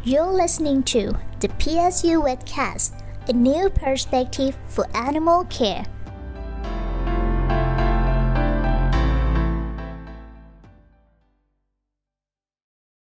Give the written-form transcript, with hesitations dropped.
You're listening to the PSU Webcast, a new perspective for animal care.